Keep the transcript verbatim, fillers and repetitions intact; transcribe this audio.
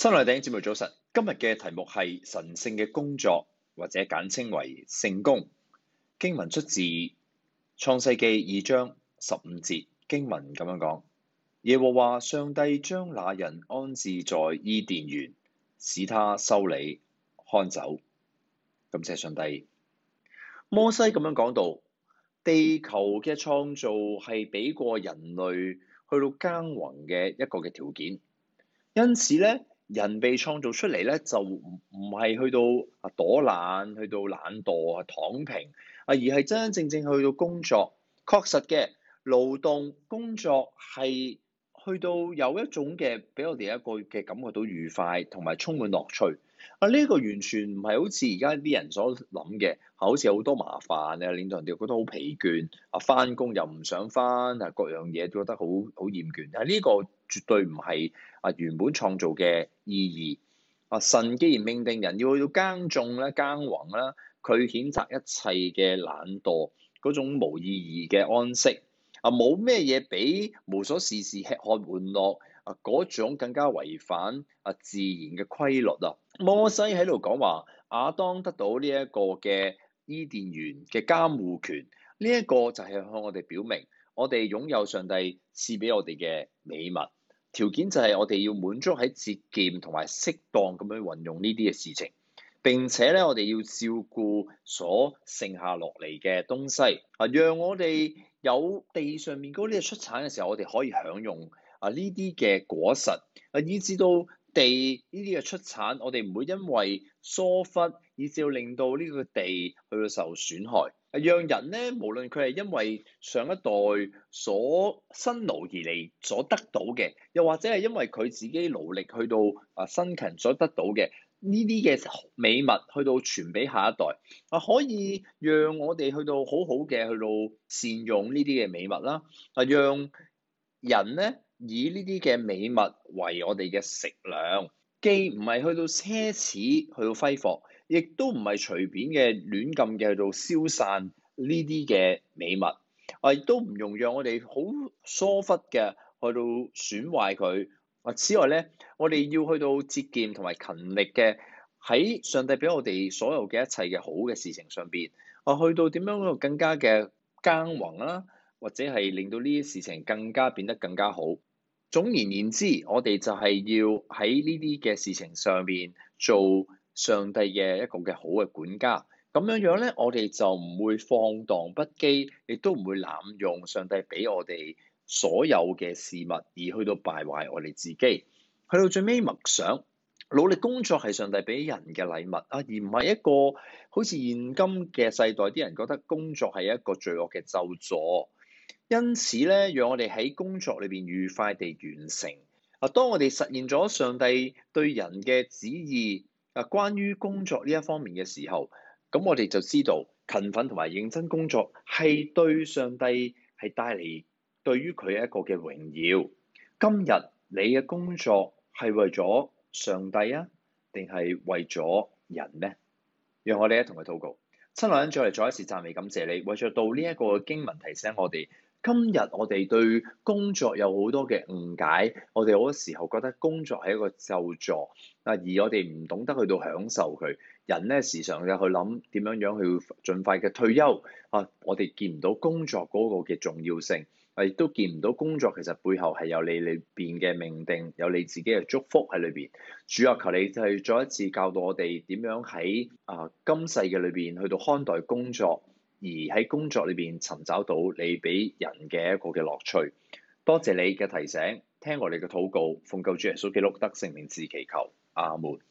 新來頂節目早晨，今日嘅題目係神聖嘅工作，或者簡稱為聖工。經文出自創世記二章十五節，經文咁樣講：耶和華上帝將那人安置在伊甸園，使他修理看守。感謝上帝。摩西咁樣講到，地球嘅創造係俾過人類去到耕耘嘅一個嘅條件，因此咧。人被創造出嚟咧，就唔唔係去到啊躲懶，去到懶惰啊躺平啊，而係真真正正去到工作。確實嘅勞動工作係去到有一種嘅俾我哋一個嘅感覺到愉快同埋充滿樂趣啊！呢個完全唔係好似而家啲人所諗嘅，好似好多麻煩啊，令到人哋覺得好疲倦啊，翻工又唔想翻啊，各樣嘢都覺得好好厭倦啊！呢個絕對唔係啊原本創造嘅意義啊！神既然命定人要去到耕種咧、耕耘啦，佢譴責一切嘅懶惰嗰種無意義嘅安息啊！冇咩嘢比無所事事、吃喝玩樂啊嗰種更加違反啊自然嘅規律啊！摩西喺度講話，亞當得到呢一個嘅伊甸園嘅監護權，呢一個就係向我哋表明，我哋擁有上帝賜俾我哋嘅美物。條件就係我哋要滿足喺節儉同埋適當咁樣運用呢啲嘅事情，並且咧我哋要照顧所剩下落嚟嘅東西啊，讓我哋有地上面嗰啲嘅出產嘅時候，我哋可以享用啊呢啲嘅果實啊，以至到地呢啲嘅出產，我哋唔會因為疏忽，以至到令到呢個地去到受損害。讓人咧，無論佢係因為上一代所辛勞而嚟所得到嘅，又或者係因為佢自己勞力去到啊辛勤所得到嘅呢啲嘅美物，去到傳俾下一代啊，可以讓我哋去到好好嘅去到善用呢啲嘅美物啦。啊，讓人咧以呢啲嘅美物為我哋嘅食糧，既唔係去到奢侈，去到揮霍。亦都唔係隨便嘅亂咁嘅去到消散呢啲嘅美物，啊，亦都唔容讓我哋好疏忽嘅去到損壞佢。啊，此外咧，我哋要去到節儉同埋勤力嘅喺上帝俾我哋所有嘅一切嘅好嘅事情上邊，啊，去到點樣更加嘅耕耘啦，或者係令到呢啲事情更加變得更加好。總而言之，我哋就係要喺呢啲嘅事情上邊做上帝嘅一個嘅好嘅管家，咁樣樣咧，我哋就唔會放蕩不羈，亦都唔會濫用上帝俾我哋所有嘅事物，而去到敗壞我哋自己。去到最尾默想，努力工作係上帝俾人嘅禮物啊，而唔係一個好似現今嘅世代啲人覺得工作係一個罪惡嘅咒詛。因此咧，讓我哋喺工作裏邊愉快地完成啊。當我哋實現咗上帝對人嘅旨意啊，關於工作呢一方面嘅時候，咁我哋就知道勤奮同埋認真工作係對上帝係帶嚟對於佢一個嘅榮耀。今日你嘅工作係為咗上帝啊，定係為咗人呢？讓我哋一同去禱告。親愛嘅主，再嚟再一次讚美感謝你，為咗到呢一個經文提醒我哋。今日我哋對工作有好多嘅誤解，我哋好多時候覺得工作係一個咒詛，啊，而我哋唔懂得去到享受佢。人咧時常嘅去諗點樣樣去盡快嘅退休，啊，我哋見唔到工作嗰個嘅重要性，啊，亦都見唔到工作其實背後係有你裏邊嘅命定，有你自己嘅祝福喺裏邊。主啊，求你就係再一次教導我哋點樣喺啊今世嘅裏邊去到看待工作。而喺工作裏邊尋找到你俾人嘅一個嘅樂趣。多謝你嘅提醒，聽我哋嘅禱告，奉救主耶穌基督得聖名字祈求，阿門。